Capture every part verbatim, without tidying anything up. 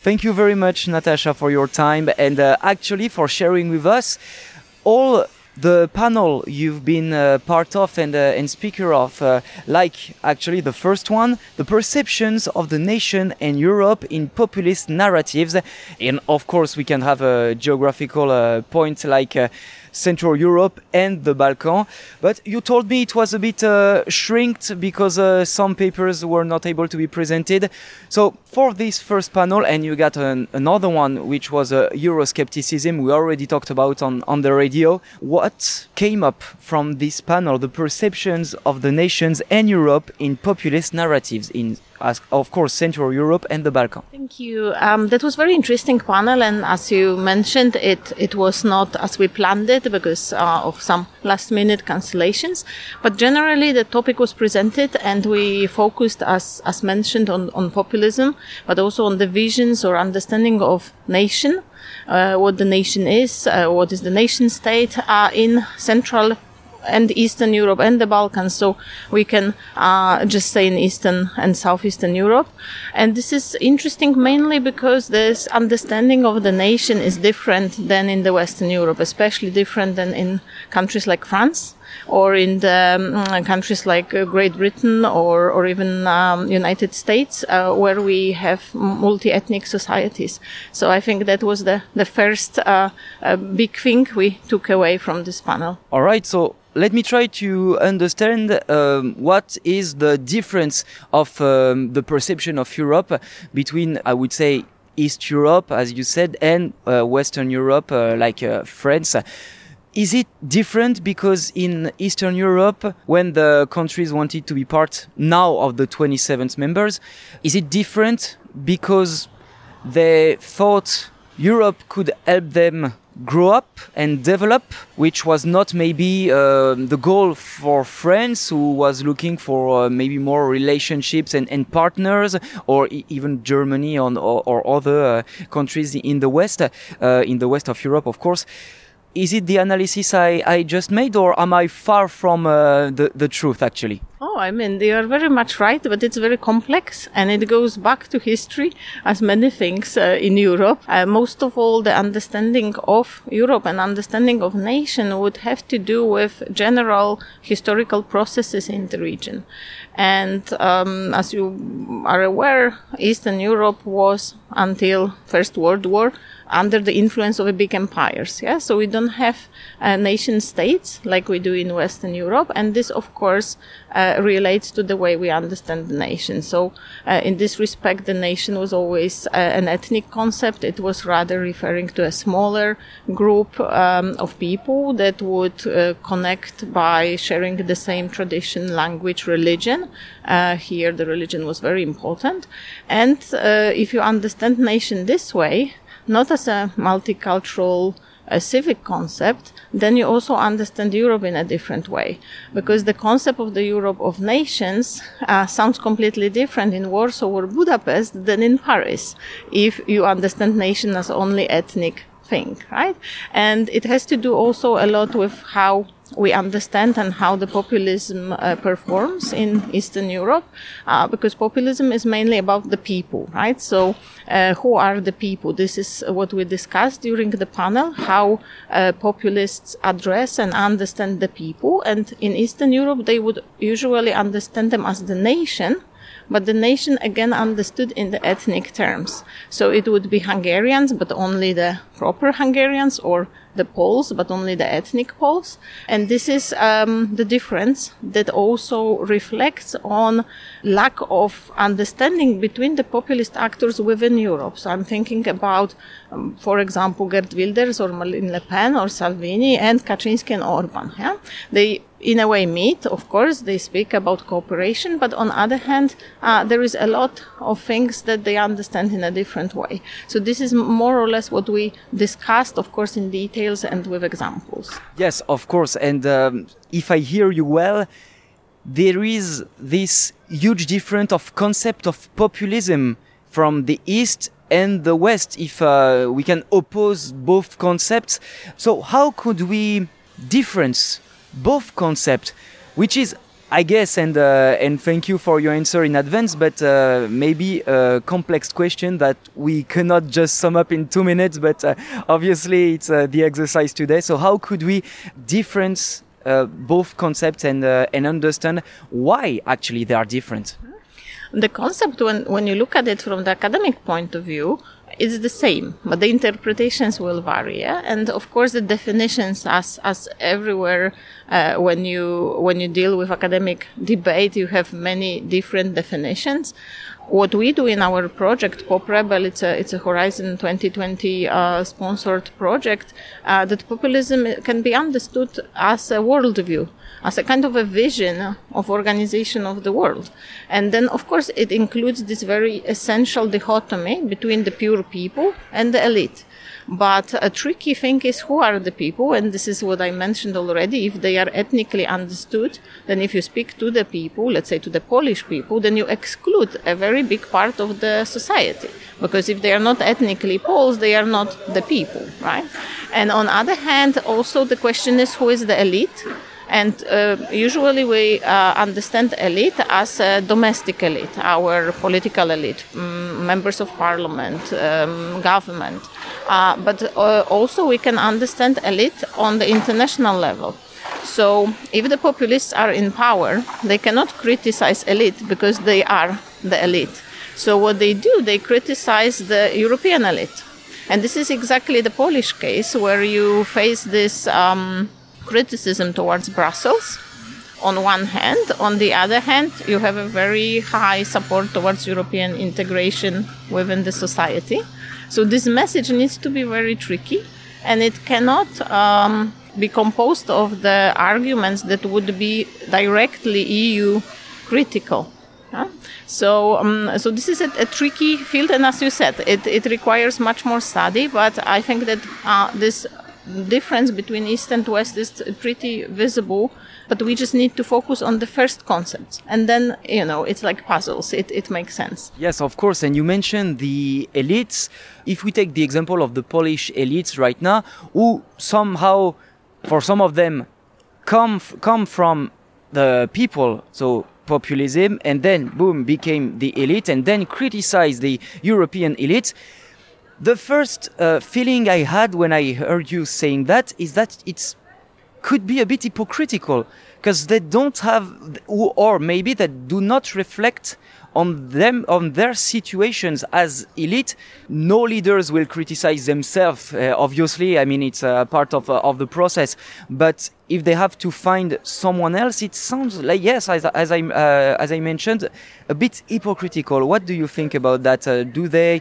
Thank you very much, Natasha, for your time and uh, actually for sharing with us all the panel you've been uh, part of and, uh, and speaker of, uh, like actually the first one, the perceptions of the nation and Europe in populist narratives. And of course, we can have a geographical uh, point like uh, Central Europe and the Balkan. But you told me it was a bit uh, shrinked because uh, some papers were not able to be presented. So for this first panel, and you got an, another one, which was uh, Euroscepticism, we already talked about on, on the radio. What came up from this panel, the perceptions of the nations and Europe in populist narratives in, as, of course, Central Europe and the Balkan? Thank you. Um, that was very interesting panel, and as you mentioned, it it was not as we planned it because uh, of some last-minute cancellations. But generally, the topic was presented, and we focused, as as mentioned, on on populism, but also on the visions or understanding of nation, uh, what the nation is, uh, what is the nation state uh, in Central and Eastern Europe and the Balkans, so we can uh, just say in Eastern and Southeastern Europe. And this is interesting mainly because this understanding of the nation is different than in the Western Europe, especially different than in countries like France or in the um, countries like uh, Great Britain or, or even um, United States, uh, where we have multi-ethnic societies. So I think that was the, the first uh, uh, big thing we took away from this panel. All right, so let me try to understand um, what is the difference of um, the perception of Europe between, I would say, East Europe, as you said, and uh, Western Europe, uh, like uh, France. Is it different because in Eastern Europe, when the countries wanted to be part now of the twenty-seven members, is it different because they thought Europe could help them grow up and develop, which was not maybe uh, the goal for France, who was looking for uh, maybe more relationships and, and partners, or e- even Germany on, or, or other uh, countries in the West, uh, in the West of Europe, of course. Is it the analysis I, I just made, or am I far from uh, the, the truth, actually? Oh, I mean, they are very much right, but it's very complex, and it goes back to history, as many things uh, in Europe. Uh, most of all, the understanding of Europe and understanding of nation would have to do with general historical processes in the region. And um, as you are aware, Eastern Europe was, until First World War, under the influence of a big empires. Yeah, so we don't have uh, nation states like we do in Western Europe, and this, of course, uh, relates to the way we understand the nation. So, uh, in this respect, the nation was always uh, an ethnic concept. It was rather referring to a smaller group um, of people that would uh, connect by sharing the same tradition, language, religion. Uh, here, the religion was very important, and uh, if you understand nation this way, not as a multicultural a civic concept, then you also understand Europe in a different way. Because the concept of the Europe of nations uh, sounds completely different in Warsaw or Budapest than in Paris, if you understand nation as only ethnic thing, right? And it has to do also a lot with how we understand and how the populism uh, performs in Eastern Europe, uh, because populism is mainly about the people, right? So, uh, who are the people? This is what we discussed during the panel, how uh, populists address and understand the people. And in Eastern Europe, they would usually understand them as the nation, but the nation again understood in the ethnic terms. So it would be Hungarians, but only the proper Hungarians, or the Poles, but only the ethnic Poles. And this is um, the difference that also reflects on lack of understanding between the populist actors within Europe. So I'm thinking about, um, for example, Geert Wilders or Marine Le Pen or Salvini and Kaczynski and Orban. Yeah? They in a way meet, of course, they speak about cooperation, but on the other hand, uh, there is a lot of things that they understand in a different way. So this is more or less what we discussed, of course, in details and with examples. Yes, of course. And um, if I hear you well, there is this huge difference of concept of populism from the East and the West, if uh, we can oppose both concepts. So how could we difference both concepts, which is I guess, and uh, and thank you for your answer in advance, but uh, maybe a complex question that we cannot just sum up in two minutes, but uh, obviously it's uh, the exercise today. So how could we difference uh, both concepts and uh, and understand why actually they are different? The concept, when, when you look at it from the academic point of view, is the same, but the interpretations will vary. Yeah? And of course, the definitions, as as everywhere, uh, when you when you deal with academic debate, you have many different definitions. What we do in our project, PopRebel, it's a it's a Horizon twenty twenty uh, sponsored project. Uh, that populism can be understood as a worldview, as a kind of a vision of organization of the world. And then, of course, it includes this very essential dichotomy between the pure people and the elite. But a tricky thing is, who are the people? And this is what I mentioned already. If they are ethnically understood, then if you speak to the people, let's say to the Polish people, then you exclude a very big part of the society. Because if they are not ethnically Poles, they are not the people, right? And on the other hand, also the question is, who is the elite? And uh, usually we uh, understand elite as a domestic elite, our political elite, um, members of parliament, um, government. Uh, but uh, also we can understand elite on the international level. So if the populists are in power, they cannot criticize elite because they are the elite. So what they do, they criticize the European elite. And this is exactly the Polish case, where you face this um, criticism towards Brussels on one hand. On the other hand, you have a very high support towards European integration within the society. So this message needs to be very tricky, and it cannot um, be composed of the arguments that would be directly E U critical. Huh? So, um, so this is a, a tricky field, and as you said, it, it requires much more study. But I think that uh, this difference between East and West is pretty visible. But we just need to focus on the first concepts, and then, you know, it's like puzzles. It it makes sense. Yes, of course. And you mentioned the elites. If we take the example of the Polish elites right now, who somehow, for some of them, come f- come from the people, so populism, and then boom, became the elite, and then criticize the European elite. The first uh, feeling I had when I heard you saying that is that it's could be a bit hypocritical, because they don't have, or maybe they do not reflect on them, on their situations as elite. No leaders will criticize themselves, uh, obviously. I mean, it's a part of uh, of the process. But if they have to find someone else, it sounds like, yes, as, as I uh, as I mentioned, a bit hypocritical. What do you think about that? Uh, do they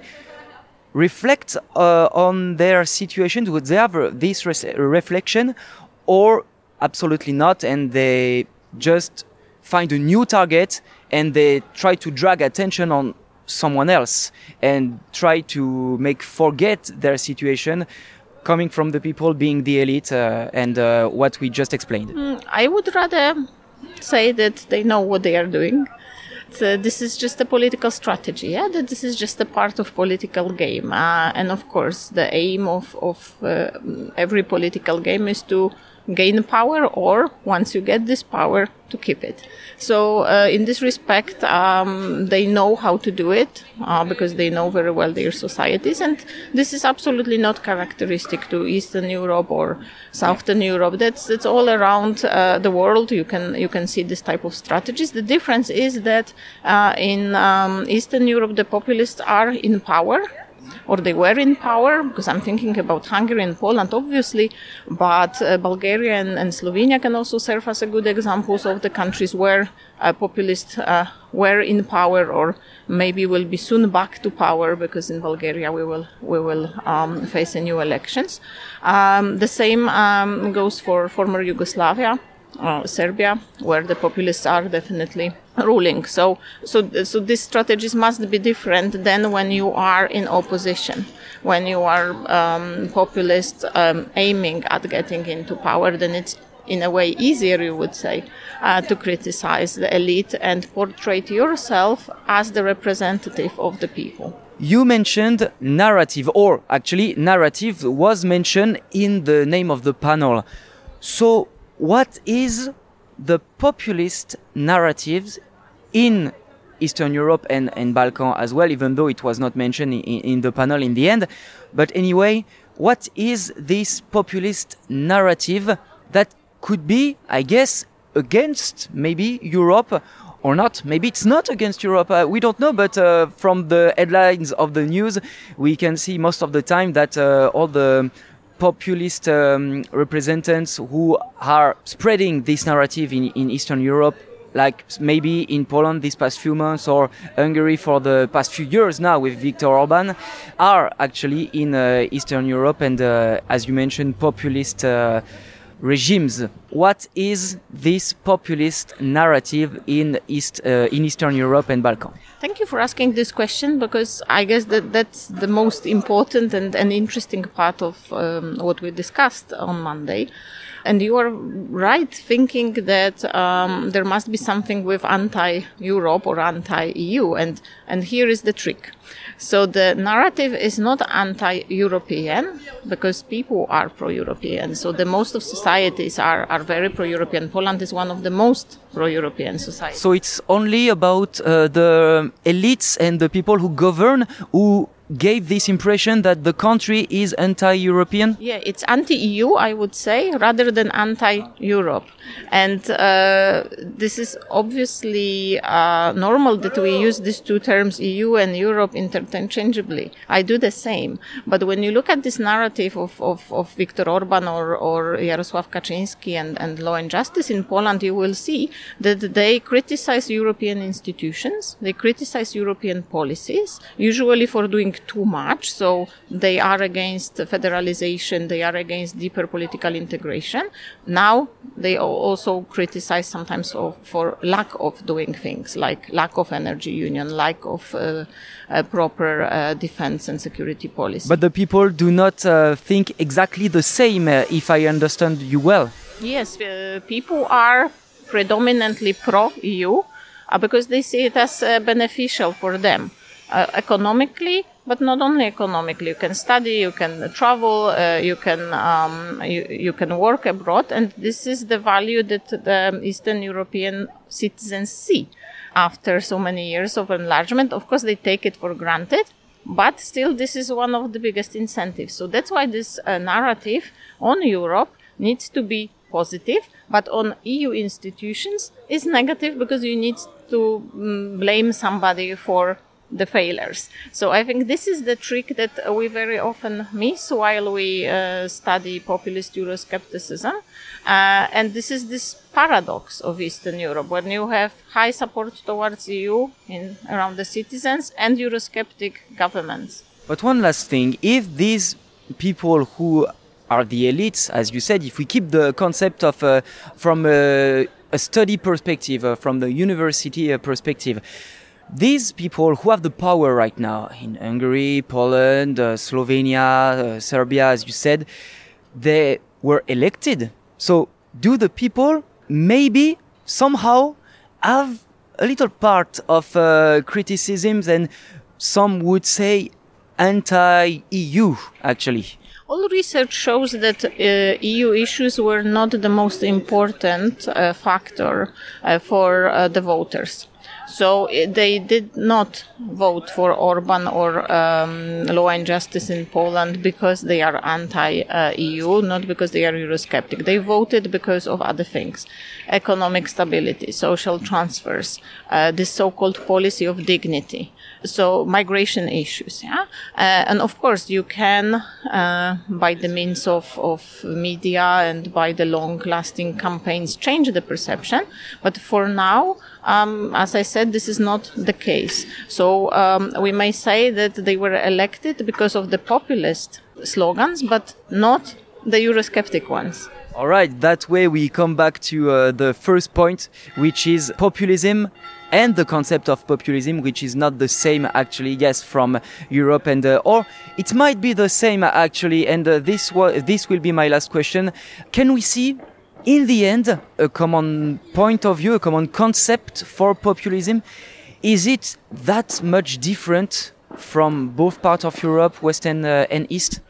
reflect uh, on their situation? Do they have uh, this res- reflection? Or absolutely not, and they just find a new target and they try to drag attention on someone else and try to make forget their situation, coming from the people being the elite uh, and uh, what we just explained. Mm, I would rather say that they know what they are doing. So this is just a political strategy, yeah? That this is just a part of political game. Uh, and of course, the aim of, of uh, every political game is to gain power, or once you get this power, to keep it. So uh, in this respect, um, they know how to do it uh, because they know very well their societies, and this is absolutely not characteristic to Eastern Europe or Southern Europe. That's that's all around uh, the world. You can you can see this type of strategies. The difference is that uh, in um, Eastern Europe, the populists are in power, or they were in power, because I'm thinking about Hungary and Poland, obviously, but uh, Bulgaria and, and Slovenia can also serve as a good examples of the countries where uh, populists uh, were in power, or maybe will be soon back to power, because in Bulgaria we will we will um, face a new elections. Um, the same um, goes for former Yugoslavia. Uh, Serbia, where the populists are definitely ruling. So, so, so these strategies must be different than when you are in opposition, when you are um, populist um, aiming at getting into power. Then it's in a way easier, you would say, uh, to criticize the elite and portray yourself as the representative of the people. You mentioned narrative, or actually narrative was mentioned in the name of the panel. So what is the populist narratives in Eastern Europe and, and Balkan as well, even though it was not mentioned in, in the panel in the end. But anyway, what is this populist narrative that could be, I guess, against maybe Europe or not? Maybe it's not against Europe. Uh, we don't know, but uh, from the headlines of the news, we can see most of the time that uh, all the populist um, representatives who are spreading this narrative in, in Eastern Europe, like maybe in Poland these past few months or Hungary for the past few years now with Viktor Orban, are actually in uh, Eastern Europe and, uh, as you mentioned, populist uh, regimes. What is this populist narrative in East uh, in Eastern Europe and Balkan? Thank you for asking this question, because I guess that that's the most important and, and interesting part of um, what we discussed on Monday. And you are right thinking that um, there must be something with anti-Europe or anti-E U, and and here is the trick. So the narrative is not anti-European, because people are pro-European. So the most of societies are, are very pro-European. Poland is one of the most pro-European societies. So it's only about uh, the elites and the people who govern who gave this impression that the country is anti-European? Yeah, it's anti-E U, I would say, rather than anti-Europe. And uh, this is obviously uh, normal that we use these two terms, E U and Europe, interchangeably. I do the same. But when you look at this narrative of, of, of Viktor Orban or, or Jarosław Kaczynski and, and Law and Justice in Poland, you will see that they criticize European institutions, they criticize European policies, usually for doing too much. So they are against federalization, they are against deeper political integration. Now they also criticize sometimes of, for lack of doing things, like lack of energy union, lack of uh, uh, proper uh, defense and security policy. But the people do not uh, think exactly the same, uh, if I understand you well. Yes, uh, people are predominantly pro-E U uh, because they see it as uh, beneficial for them uh, economically. But not only economically, you can study, you can travel, uh, you can um, you, you can work abroad, and this is the value that the Eastern European citizens see after so many years of enlargement. Of course, they take it for granted, but still, this is one of the biggest incentives. So that's why this uh, narrative on Europe needs to be positive, but on E U institutions is negative, because you need to mm, blame somebody for the failures. So I think this is the trick that we very often miss while we uh, study populist Euroscepticism. Uh, and this is this paradox of Eastern Europe, when you have high support towards E U in around the citizens and Eurosceptic governments. But one last thing, if these people who are the elites, as you said, if we keep the concept of uh, from a, a study perspective, uh, from the university uh, perspective, these people who have the power right now in Hungary, Poland, uh, Slovenia, uh, Serbia, as you said, they were elected. So do the people maybe somehow have a little part of uh, criticisms and some would say anti-E U actually? All research shows that uh, E U issues were not the most important uh, factor uh, for uh, the voters. So uh, they did not vote for Orban or um, Law and Justice in Poland because they are anti-E U, not because they are Eurosceptic. They voted because of other things: economic stability, social transfers, uh, this so-called policy of dignity. So migration issues, yeah, uh, and of course you can, uh, by the means of, of media and by the long-lasting campaigns, change the perception. But for now, um, as I said, this is not the case. So um, we may say that they were elected because of the populist slogans, but not the Eurosceptic ones. All right, that way we come back to uh, the first point, which is populism and the concept of populism, which is not the same actually, yes, from Europe, and uh, or it might be the same actually, and uh, this wa- this will be my last question. Can we see in the end a common point of view, a common concept for populism? Is it that much different from both parts of Europe, West and, uh, and East?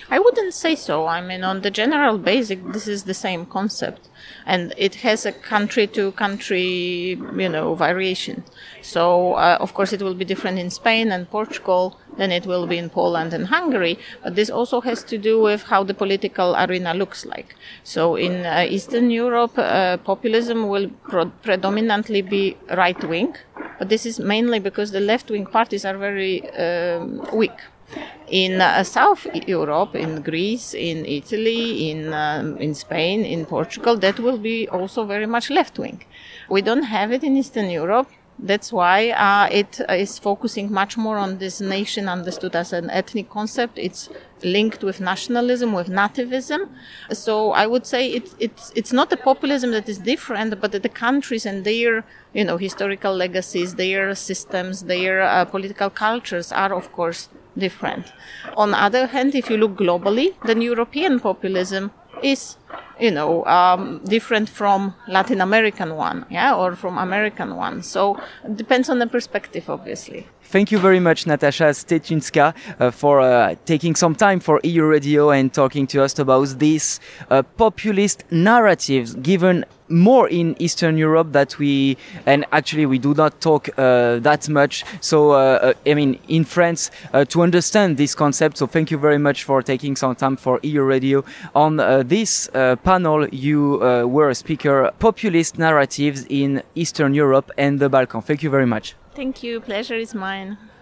I wouldn't say so. I mean, on the general basic, this is the same concept. And it has a country-to-country, you know, variation. So, uh, of course, it will be different in Spain and Portugal than it will be in Poland and Hungary. But this also has to do with how the political arena looks like. So, in uh, Eastern Europe, uh, populism will pro- predominantly be right-wing. But this is mainly because the left-wing parties are very um, weak. In uh, South Europe, in Greece, in Italy, in um, in Spain, in Portugal, that will be also very much left-wing. We don't have it in Eastern Europe. That's why uh, it is focusing much more on this nation understood as an ethnic concept. It's linked with nationalism, with nativism. So I would say it's it's it's not a populism that is different, but that the countries and their, you know, historical legacies, their systems, their uh, political cultures are, of course, different. On the other hand, if you look globally, then European populism is, you know, um, different from Latin American one, yeah, or from American one. So it depends on the perspective, obviously. Thank you very much, Natasha Steczynska, uh, for uh, taking some time for E U Radio and talking to us about these uh, populist narratives given more in Eastern Europe that we, and actually we do not talk uh, that much. So, uh, I mean, in France, uh, to understand this concept. So thank you very much for taking some time for E U Radio. On uh, this uh, panel, you uh, were a speaker, populist narratives in Eastern Europe and the Balkans. Thank you very much. Thank you. Pleasure is mine.